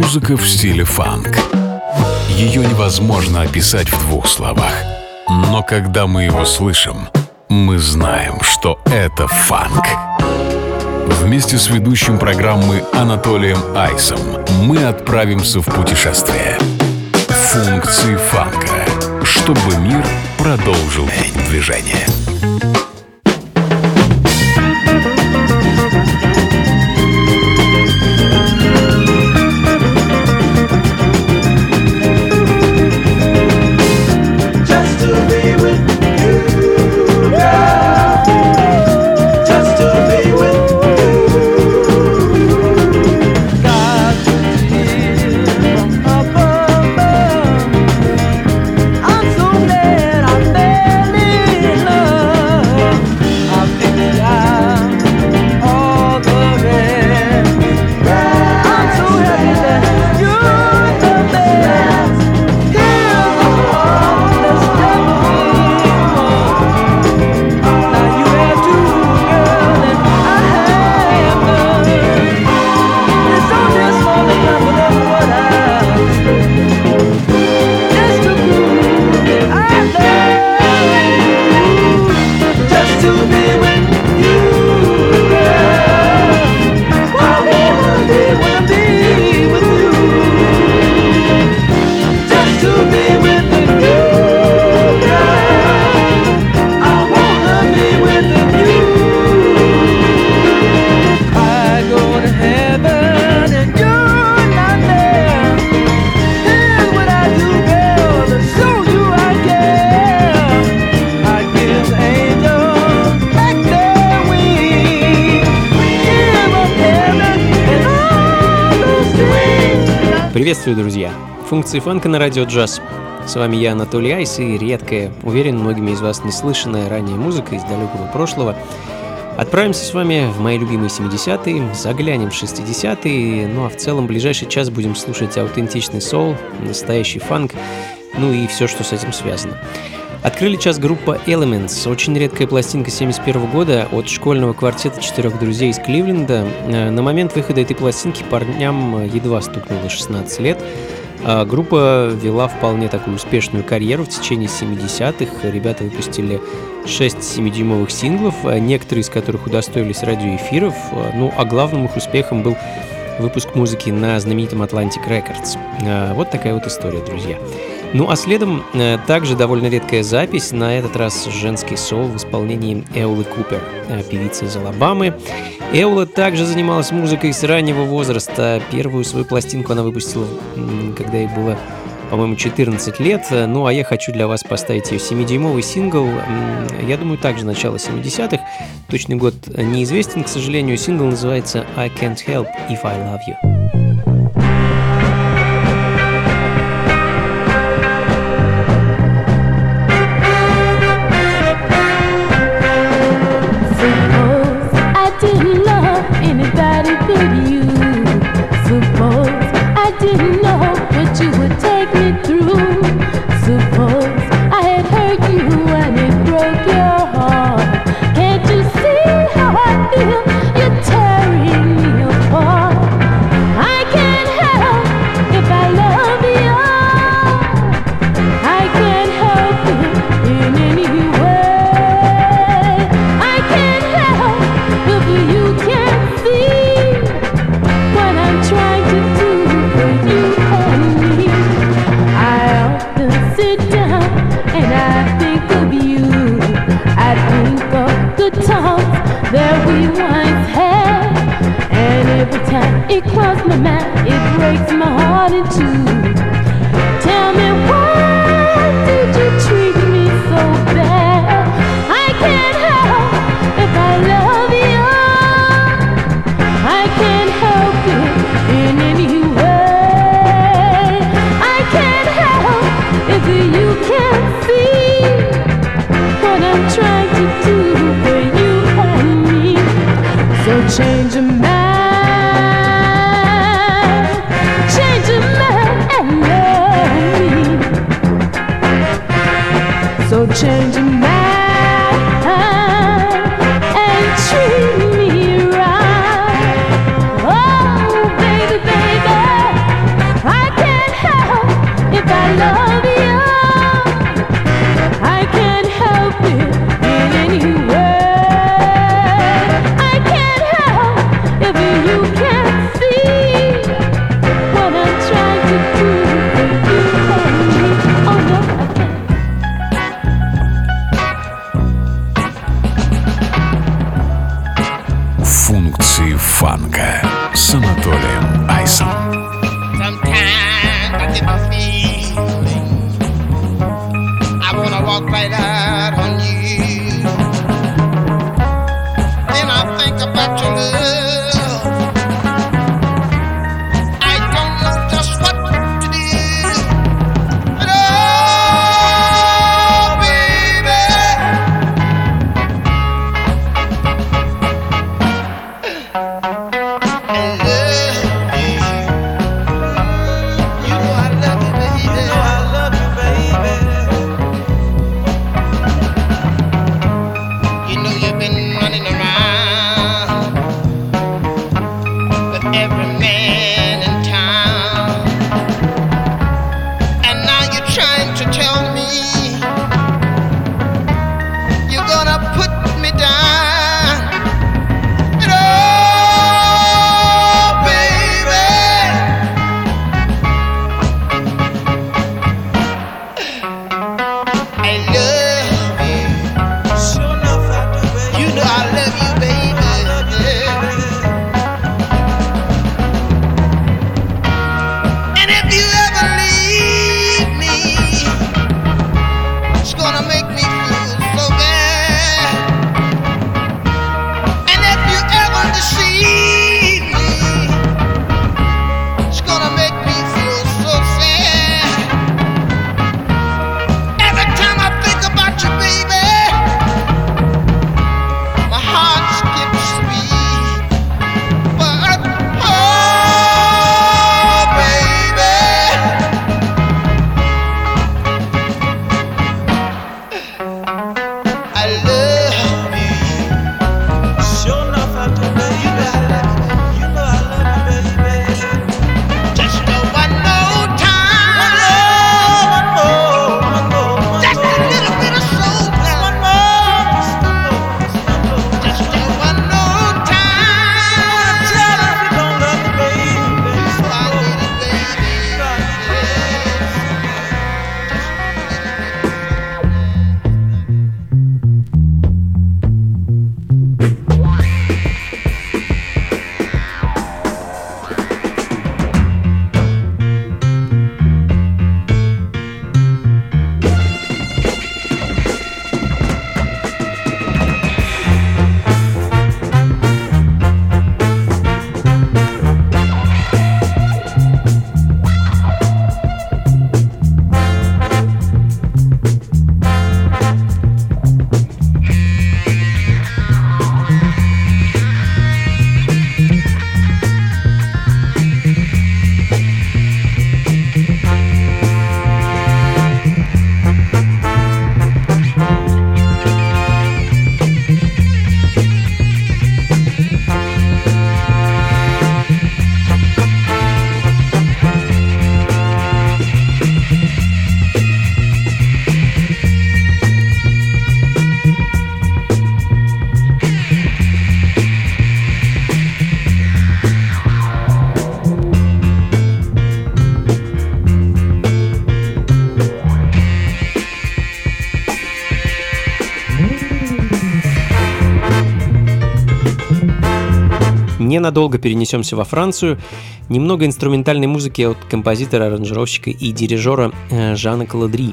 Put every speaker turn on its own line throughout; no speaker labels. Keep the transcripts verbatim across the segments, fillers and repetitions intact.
Музыка в стиле фанк. Ее невозможно описать в двух словах. Но когда мы его слышим, мы знаем, что это фанк. Вместе с ведущим программы Анатолием Айсом мы отправимся в путешествие. Функции фанка, чтобы мир продолжил движение.
Приветствую, друзья! Функции фанка на радио джаз. С вами я, Анатолий Айс, и редкая, уверен, многими из вас неслышанная ранее музыка из далекого прошлого. Отправимся с вами в мои любимые семидесятые, заглянем в шестидесятые, ну а в целом ближайший час будем слушать аутентичный соул, настоящий фанк, ну и все, что с этим связано. Открыли час группа Elements, очень редкая пластинка семьдесят первого года от школьного квартета четырех друзей из Кливленда. На момент выхода этой пластинки парням едва стукнуло шестнадцать лет. Группа вела вполне такую успешную карьеру в течение семидесятых. Ребята выпустили шесть семидюймовых синглов, некоторые из которых удостоились радиоэфиров. Ну, а главным их успехом был выпуск музыки на знаменитом Atlantic Records. Вот такая вот история, друзья. Ну а следом э, также довольно редкая запись, на этот раз женский соул в исполнении Эолы Купер, э, певицы из Алабамы. Эола также занималась музыкой с раннего возраста. Первую свою пластинку она выпустила, м, когда ей было, по-моему, четырнадцать лет. Ну а я хочу для вас поставить ее семидюймовый сингл, м, я думаю, также начало семидесятых. Точный год неизвестен, к сожалению. Сингл называется «I Can't Help If I Love You».
Didn't know what you would take me through. Suppose I had hurt you and it broke your heart. Can't you see how I feel? You're tearing me apart. I can't help if I love you. I can't help it in any way. I can't help if you can't see what I'm trying to do. That we once had, and every time it crosses my mind, it breaks my heart in two. Tell me, why did you treat me so bad? I can't help if I love you. I can't help it in any way. I can't help if you can't see what I'm trying to do for you. So change your mind, change your mind and love me. So change your mind and treat me right. Oh, baby, baby.
Миры фанка с Анатолием Айсом.
Ненадолго перенесемся во Францию. Немного инструментальной музыки от композитора, аранжировщика и дирижера Жана Каладри.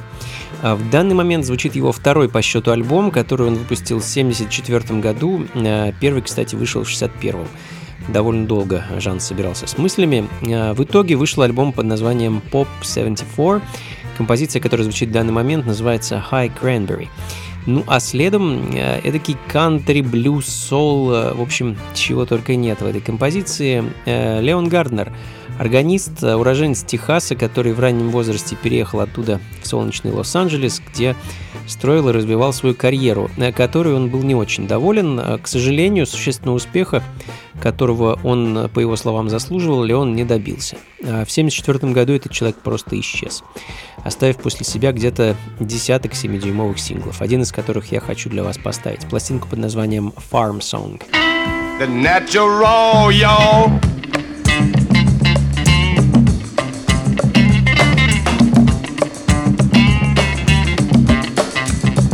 В данный момент звучит его второй по счету альбом, который он выпустил в семьдесят четвёртом году. Первый, кстати, вышел в шестьдесят первом. Довольно долго Жан собирался с мыслями. В итоге вышел альбом под названием Pop семьдесят четыре. Композиция, которая звучит в данный момент, называется High Cranberry. Ну а следом эдакий кантри, блюз, соул, в общем, чего только нет в этой композиции. Леон Гарднер, органист, уроженец Техаса, который в раннем возрасте переехал оттуда в солнечный Лос-Анджелес, где строил и развивал свою карьеру, которой он был не очень доволен. К сожалению, существенного успеха, которого он, по его словам, заслуживал, Леон не добился. В семьдесят четвёртом году этот человек просто исчез, оставив после себя где-то десяток семидюймовых синглов, один из которых я хочу для вас поставить. Пластинку под названием Farm Song.
The natural, yo.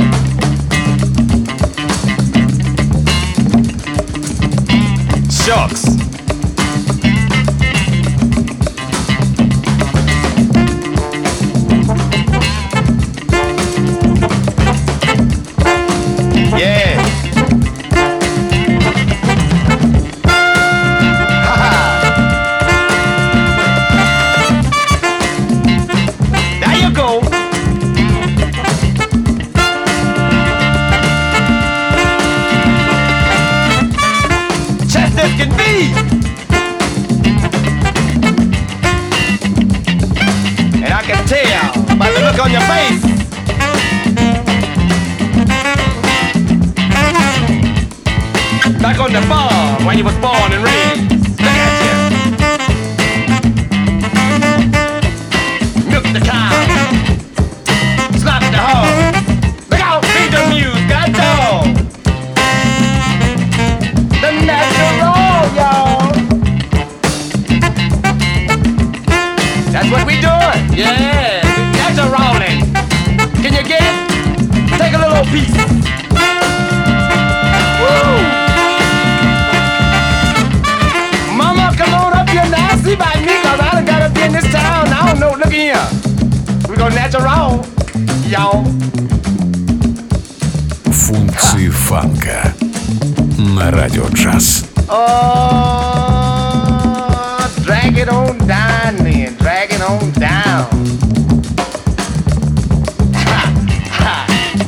Sure. box. Yeah. There you go. Just as can be. And I can tell by the look on your face. Back on the farm where you was born and raised. Look at you. Milk the cow. Slap the hog. Look out, feed the muse, got dog. The natural, y'all. That's what we doing. Yeah, natural rolling. Can you get it? Take a little piece. Woo! See by me, cause I done gotta be in this town. I don't know, look here. We go natural, y'all.
Функции фанка на радио джаз.
Oh, drag it on down then, drag it on down. Ha, ha.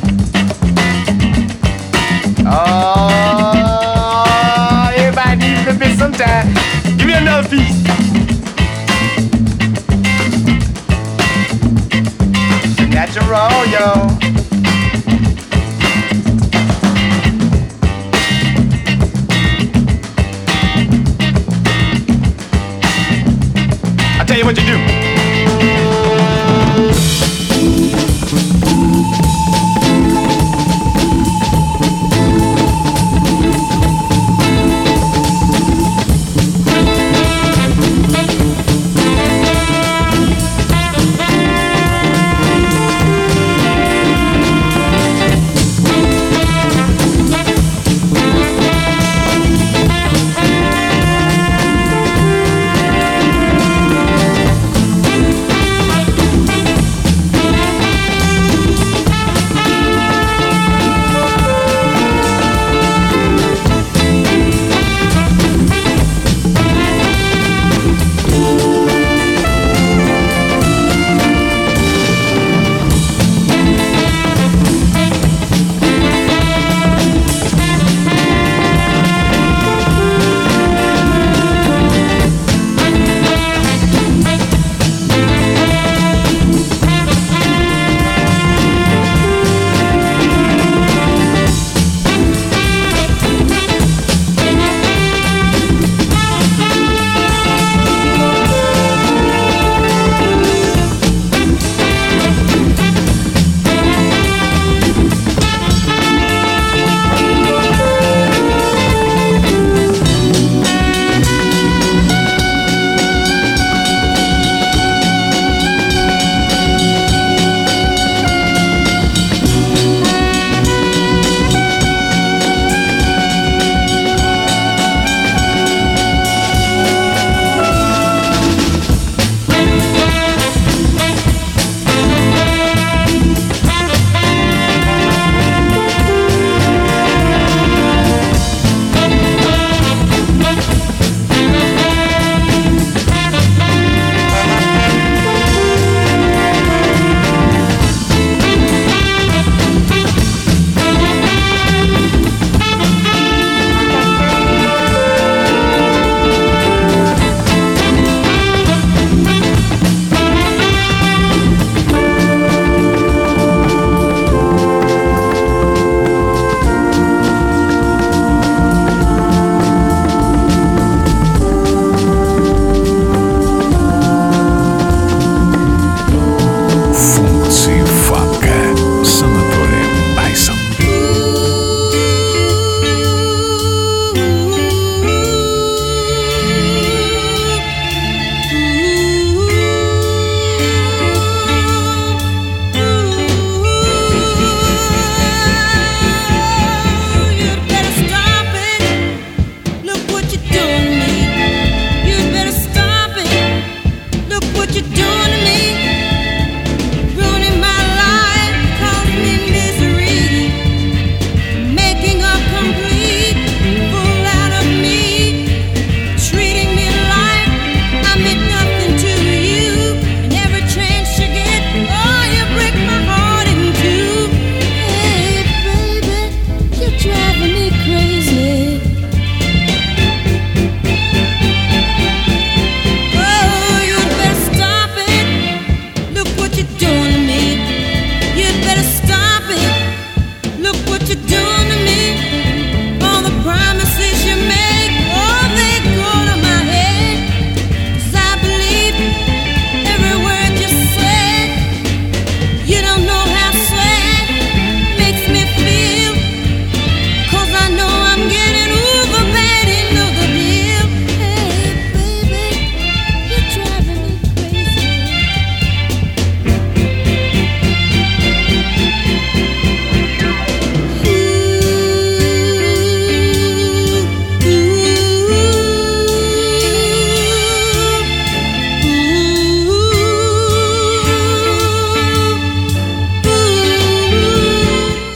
Oh, everybody needs a bit sometime. Give me another piece. Natural, yo. I'll tell you what you do.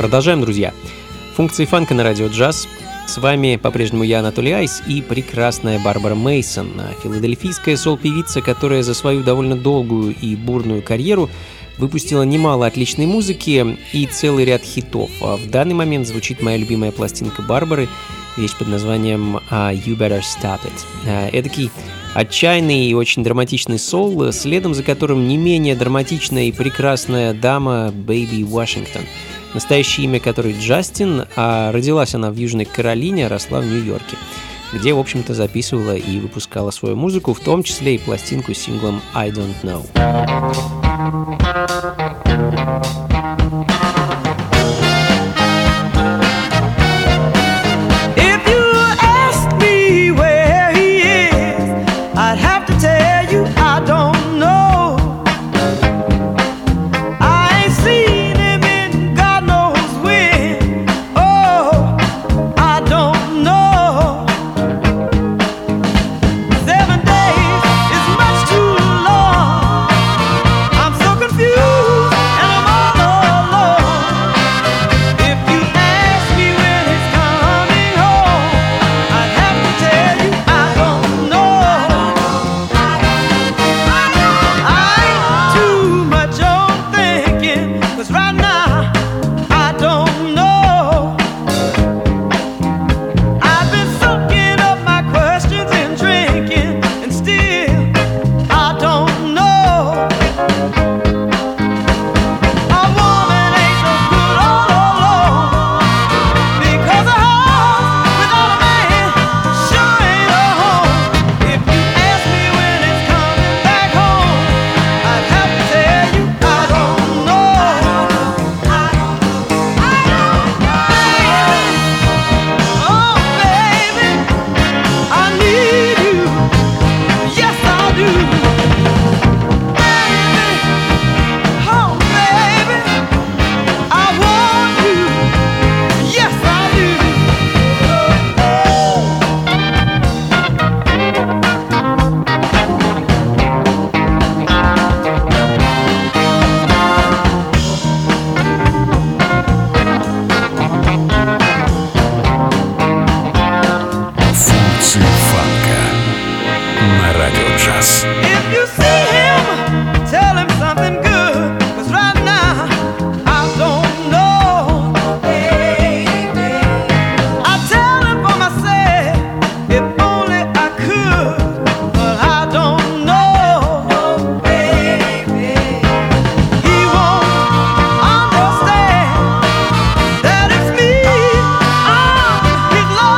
Продолжаем, друзья. Функции фанка на радио джаз. С вами по-прежнему я, Анатолий Айс, и прекрасная Барбара Мейсон, филадельфийская сол-певица, которая за свою довольно долгую и бурную карьеру выпустила немало отличной музыки и целый ряд хитов. А в данный момент звучит моя любимая пластинка Барбары, вещь под названием «You Better Stop It». Эдакий отчаянный и очень драматичный сол, следом за которым не менее драматичная и прекрасная дама Бэйби Вашингтон. Настоящее имя которой Джастин, а родилась она в Южной Каролине, а росла в Нью-Йорке, где, в общем-то, записывала и выпускала свою музыку, в том числе и пластинку с синглом «I Don't Know».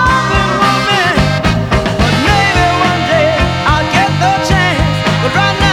Right now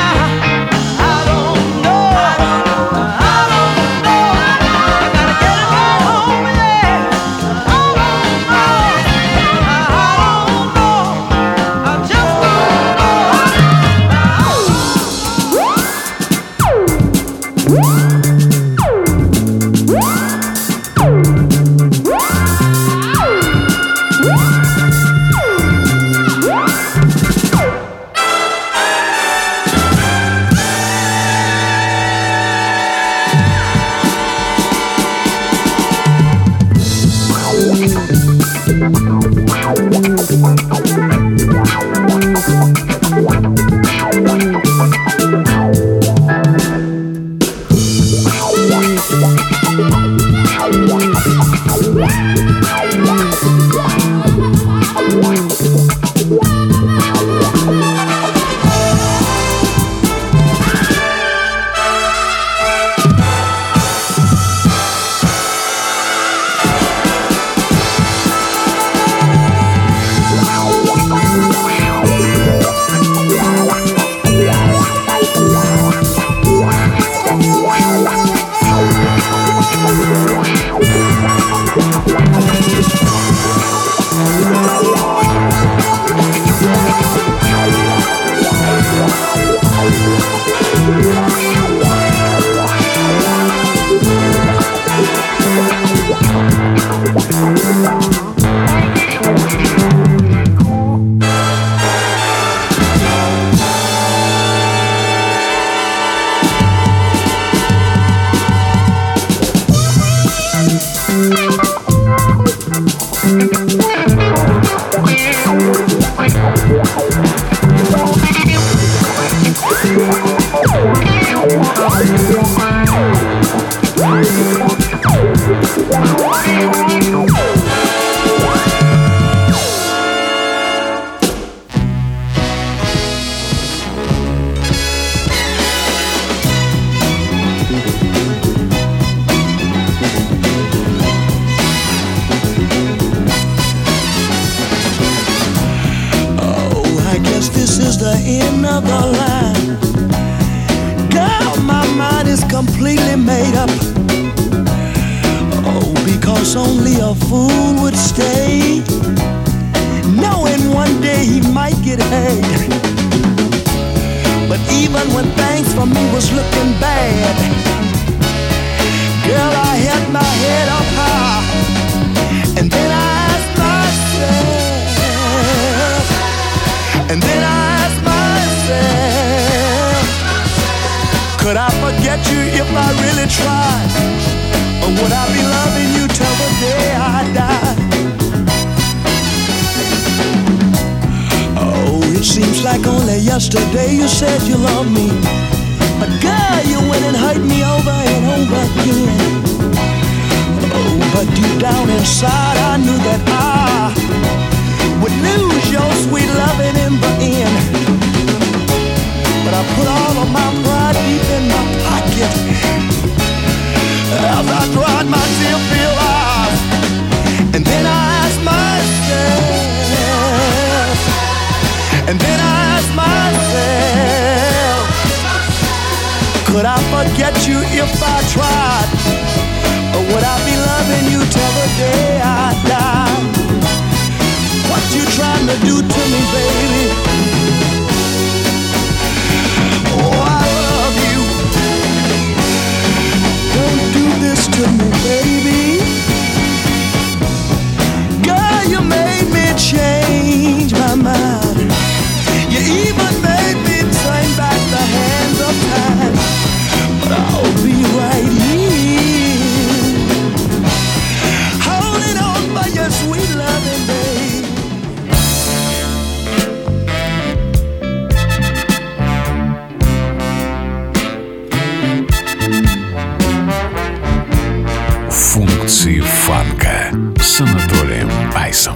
the end of the line. Girl, my mind is completely made up. Oh, because only a fool would stay, knowing one day he might get hurt. But even when things for me was looking bad, girl, I held my head up high, and then I asked myself, and then I asked myself, could I forget you if I really tried? Or would I be loving you till the day I die? Oh, it seems like only yesterday you said you loved me, but girl, you went and hurt me over and over again. Oh, but deep down inside I knew that I would lose your sweet loving in the end. But I put all of my pride deep in my pocket as I dried my tear-filled eyes. And then I asked myself, and then I asked myself, could I forget you if I tried? Or would I be loving you till the day I die? What you trying to do to me, baby? Oh, I love you. Don't do this to me, baby. Girl, you made me change my mind. You even made me turn back the hands of time. But I'll be right here, holding on by your sweet loving, babe.
Функции фанка с Анатолием Айсом.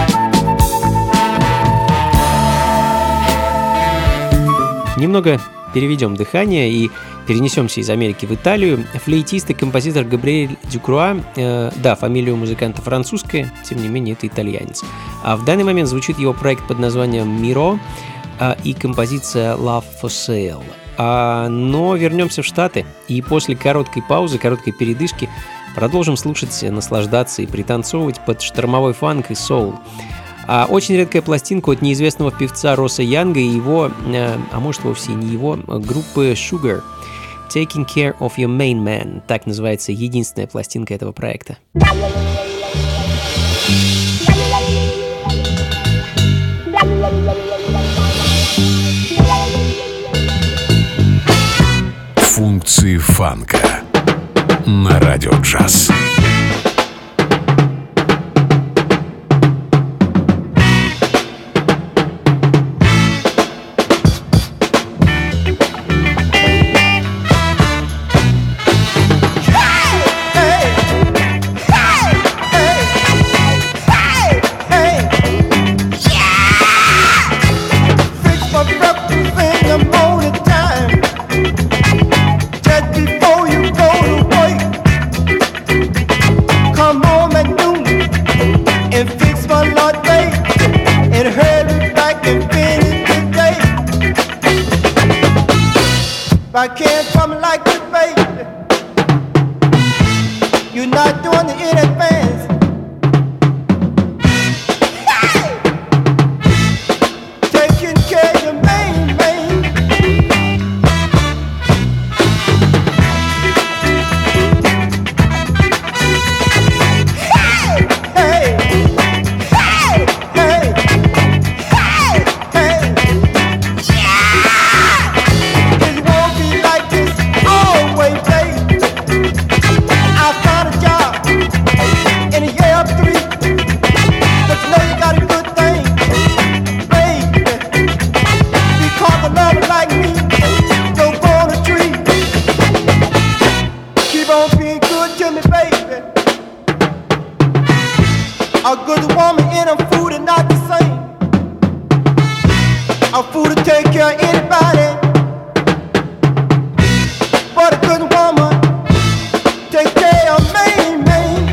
Немного переведем дыхание и перенесемся из Америки в Италию. Флейтист и композитор Габриэль Дюкруа, э, да, фамилия у музыканта французская, тем не менее это итальянец. А в данный момент звучит его проект под названием «Миро» э, и композиция «Love for Sale». А, но вернемся в Штаты и после короткой паузы, короткой передышки продолжим слушать, наслаждаться и пританцовывать под штормовой фанк и соул. А очень редкая пластинка от неизвестного певца Росса Янга и его, а может вовсе не его, группы Sugar. Taking Care of Your Main Man. Так называется единственная пластинка этого проекта.
Функции фанка на радио джаз.
I can't come like this, baby. You're not doing it in advance. Hey! Taking care of your main man. Hey! Hey! Hey! Hey! Hey! Hey! A good woman and a fool are not the same. A fool to take care of anybody, but a good woman take care of me, me.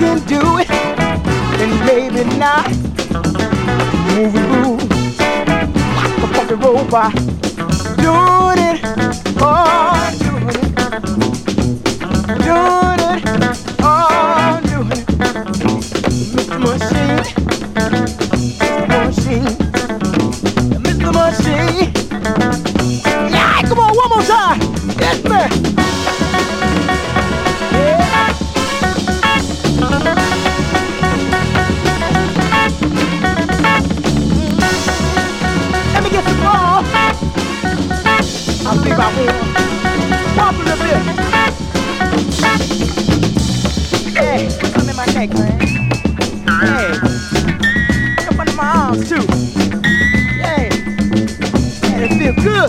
can do it, then maybe not. Move it, move like a fucking robot. Doing it, oh, doing it. Doing it, oh, doing it. Mister Machine, Mister Machine, Mister Machine. Yeah, come on, one more time. Yes, man. Yeah. Let me get some more. I'll think about more. Pop a little bit. Hey, come in my neck, man. Hey, come under my arms too. Yeah, yeah, it feel good.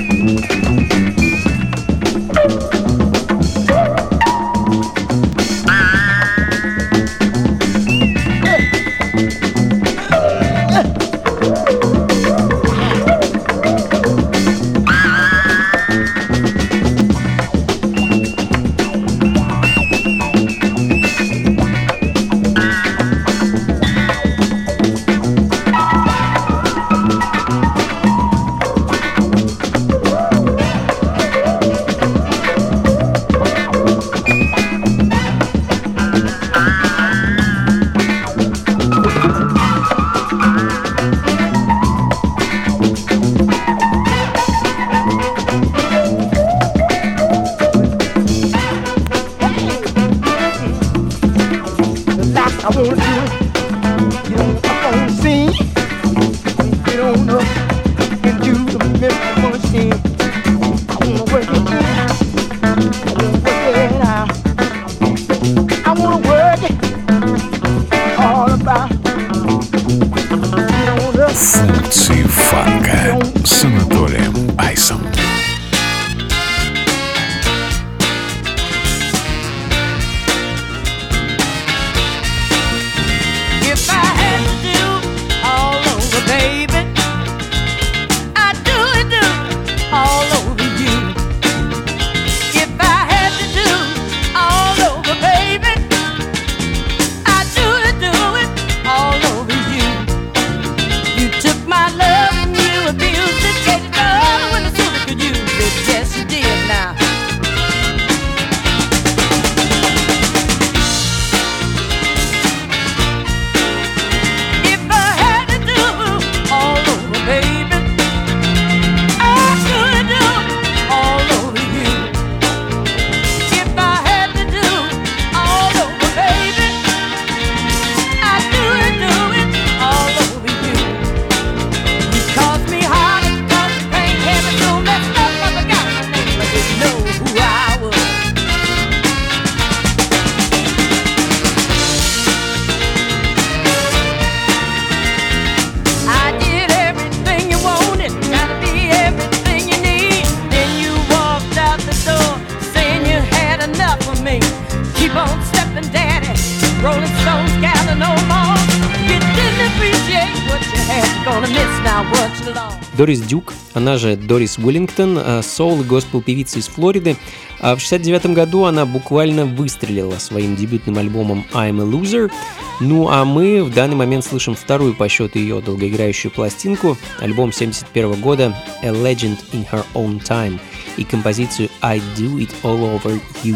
Функции фанка с Анатолием Айсом.
Дорис Дюк, она же Дорис Уиллингтон, соул и госпел-певица из Флориды. В шестьдесят девятом году она буквально выстрелила своим дебютным альбомом I'm a Loser. Ну а мы в данный момент слышим вторую по счету ее долгоиграющую пластинку, альбом семьдесят первого года A Legend in Her Own Time и композицию I Do It All Over You.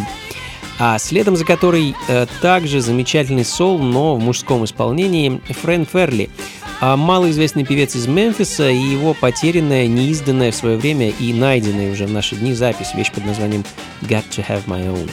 А следом за которой э, также замечательный соул, но в мужском исполнении, Фрэн Ферли, а малоизвестный певец из Мемфиса и его потерянная, неизданная в свое время и найденная уже в наши дни запись, вещь под названием Got to Have My Own.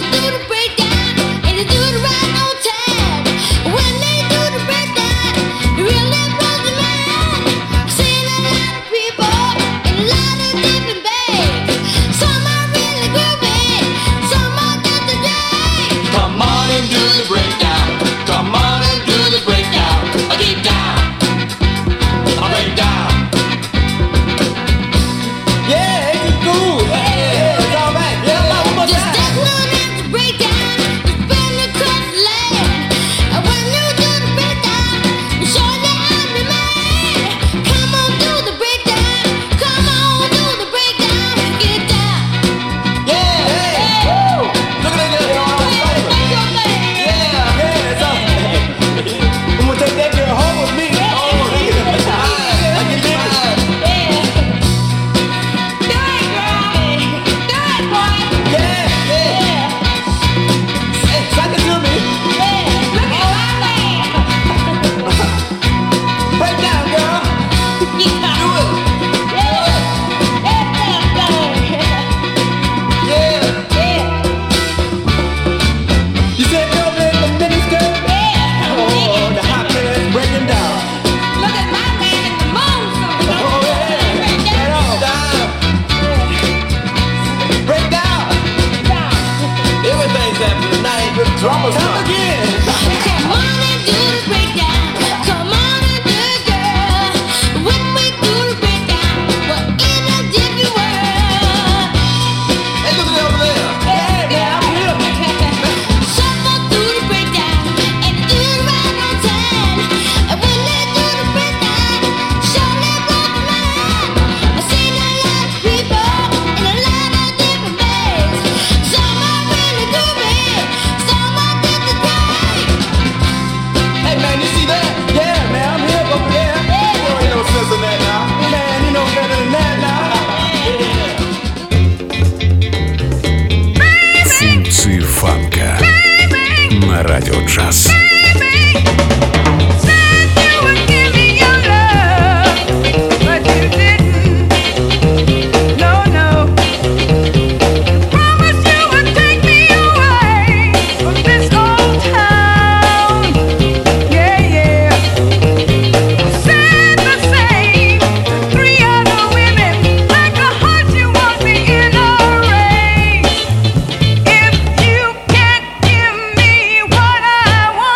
If you can't give me what I want.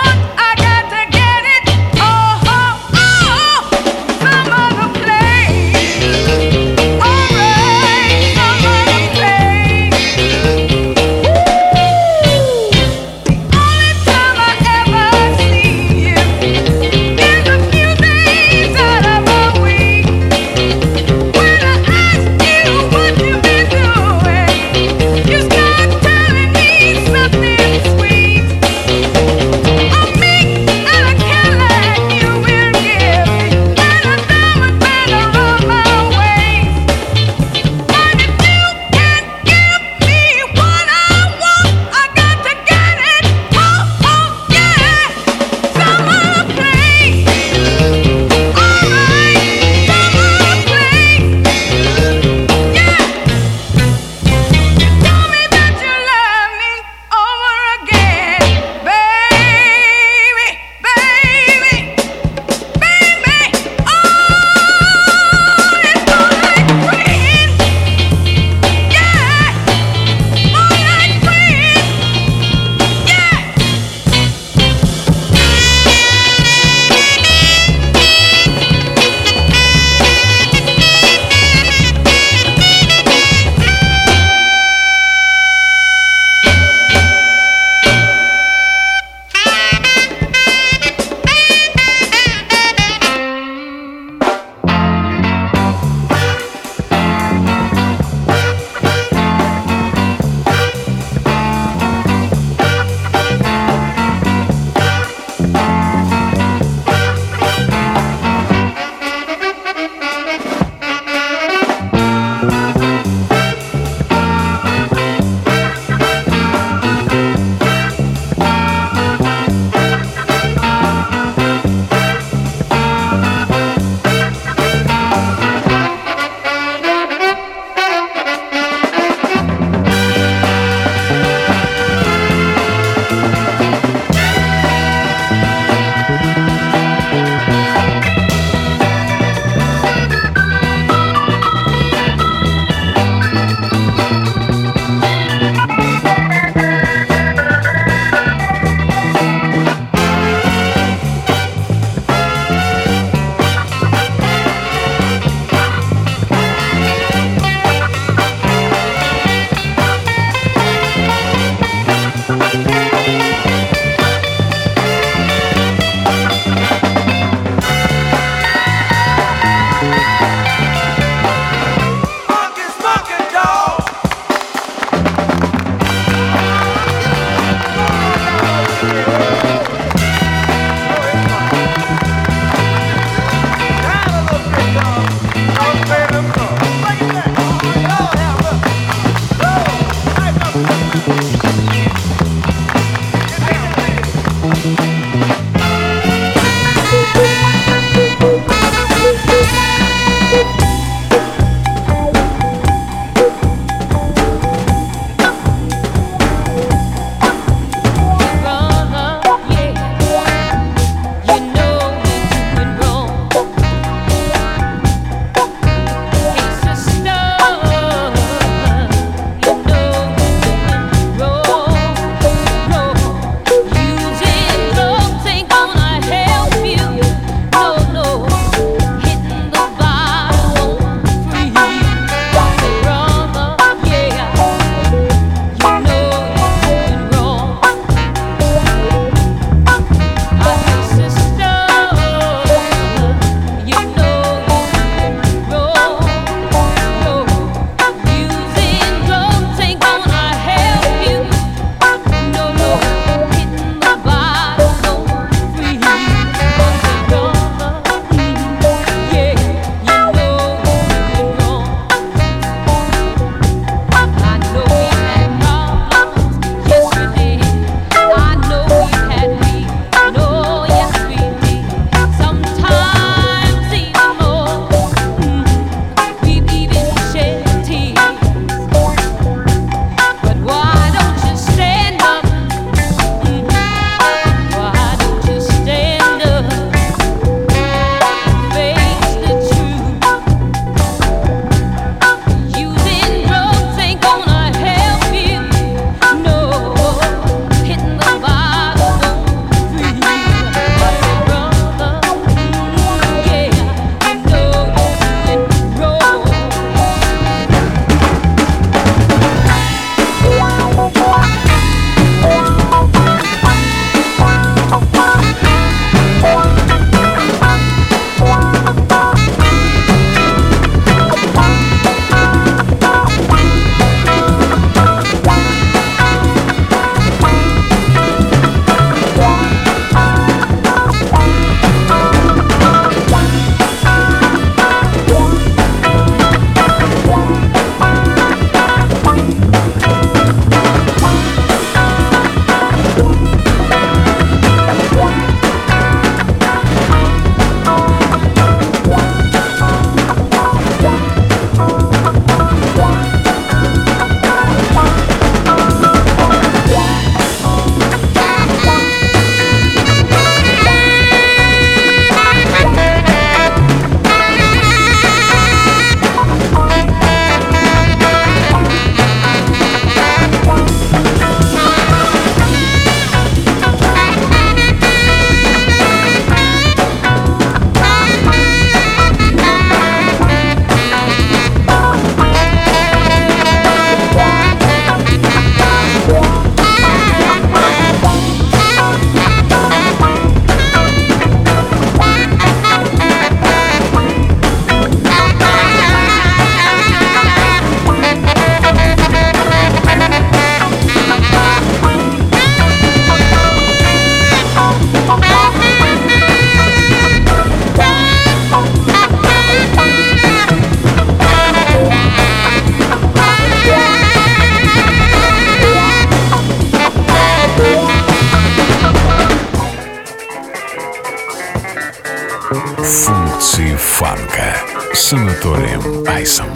Функции фанка с Анатолием Айсом.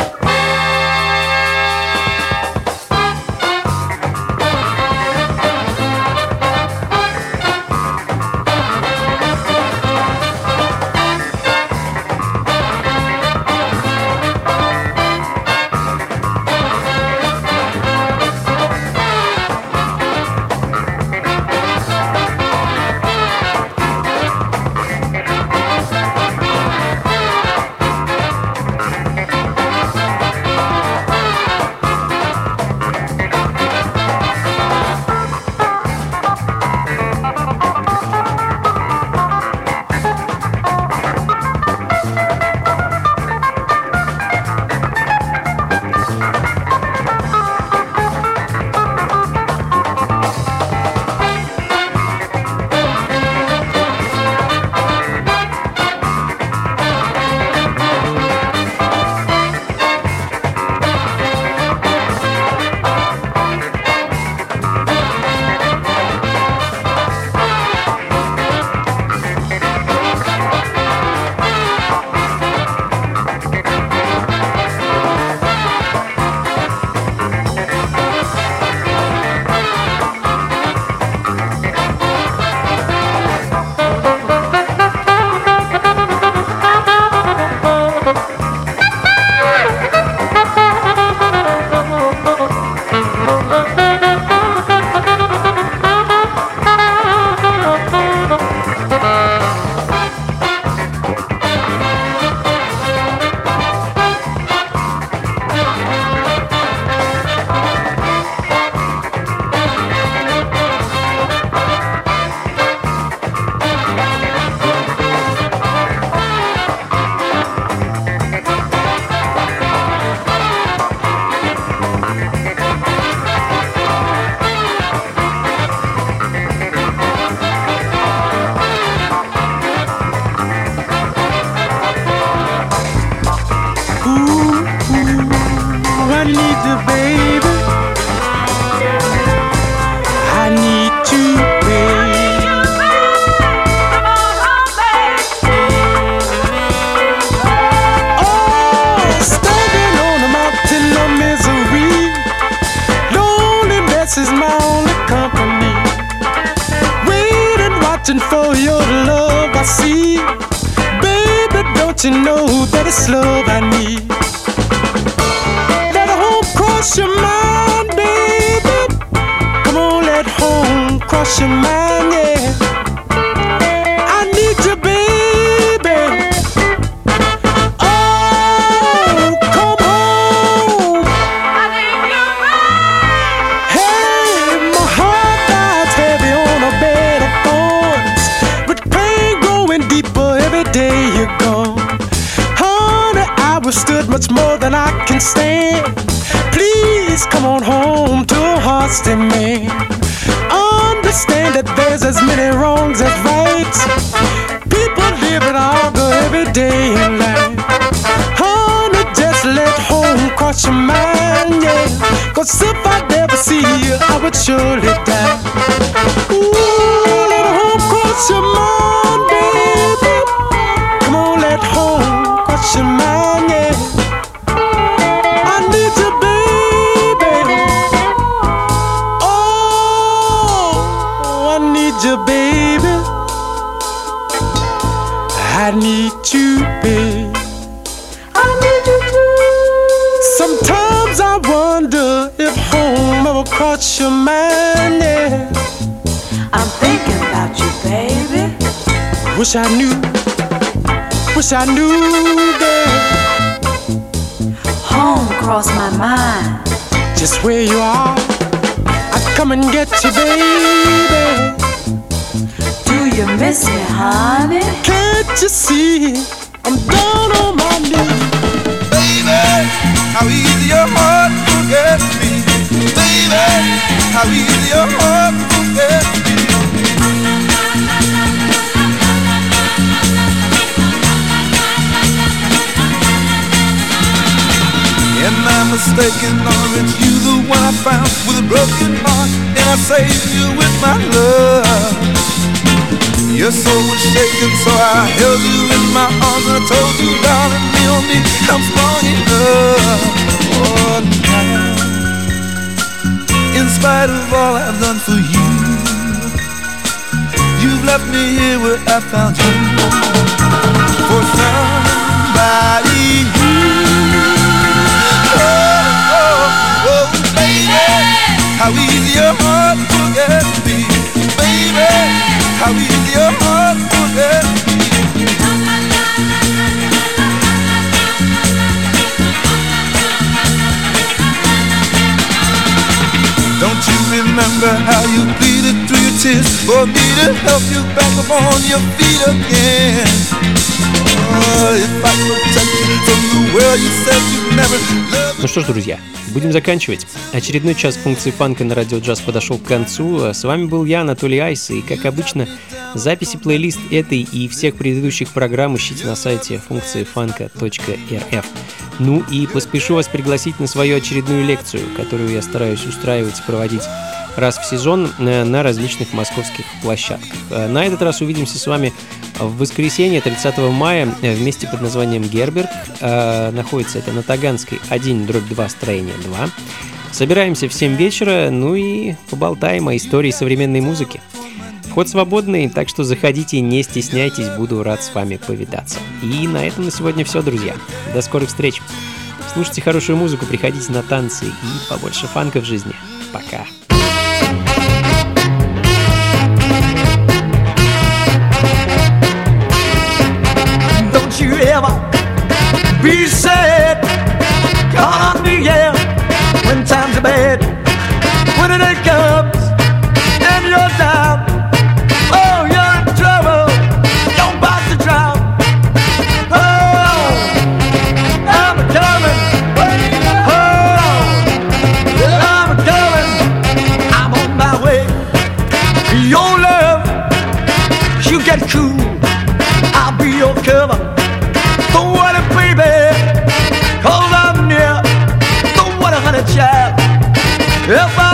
For your love I see, baby, don't you know that it's love I need? Let home cross your mind, baby. Come on, let home cross your mind, yeah. I need you, baby. Oh, come home. I need you, baby. Hey, my heart lies heavy on a bed of thorns, with pain growing deeper every day you're gone. Honey, I withstood much more than I can stand. Please come on home to a heart's demand. Understand that there's as many wrongs as rights. People live and argue every day in life. Honey, just let home cross your mind, yeah. Cause if I never see you, I would surely die. Ooh, let home cross your mind, baby. Come on, let home cross your mind, yeah. I need you, baby. Oh, I need you, baby. I need you, baby. I need you too. Sometimes I wonder if home ever crossed your mind, yeah.
I'm thinking about you, baby.
Wish I knew, wish I knew, baby.
Home crossed my mind.
Just where you are, I'd come and get you, baby.
Do you miss me, honey?
Can't you see I'm down on my knees?
Baby, how easy your heart forgets me. Baby, how easy your heart forgets me. Am I mistaken, or is you the one I found with a broken heart, and I saved you with my love? You Your soul was shaking, so I held you in my arms and I told you, darling, me on me, I'm strong enough. Oh, now, in spite of all I've done for you, you've left me here where I found you for somebody new. Oh, oh, oh, baby, how easy your heart forget me, baby, how easy your heart forget me. Don't you remember how you pleaded through your tears for me to help you back up on your feet again? Oh, if I protect you from the world you said you'd never love.
Ну что ж, друзья, будем заканчивать. Очередной час функции фанка на радио джаз подошел к концу. С вами был я, Анатолий Айс, и, как обычно, записи плейлист этой и всех предыдущих программ ищите на сайте функции фанка точка эр эф. Ну и поспешу вас пригласить на свою очередную лекцию, которую я стараюсь устраивать и проводить раз в сезон на различных московских площадках. На этот раз увидимся с вами в воскресенье, тридцатого мая, в месте под названием Герберг. Находится это на Таганской один дробь два, строение два. Собираемся в семь вечера, ну и поболтаем о истории современной музыки. Вход свободный, так что заходите, не стесняйтесь, буду рад с вами повидаться. И на этом на сегодня все, друзья. До скорых встреч. Слушайте хорошую музыку, приходите на танцы и побольше фанка в жизни. Пока.
Don't you ever be sad, count on me, yeah, when times are bad, when it comes and you're down. Oh, you're in trouble, you're about to drown. Oh, I'm coming. Oh, I'm coming. I'm on my way. Your love, you get cool. I'll be your cover. Don't worry, baby, 'cause I'm near. Don't worry, honey child. If I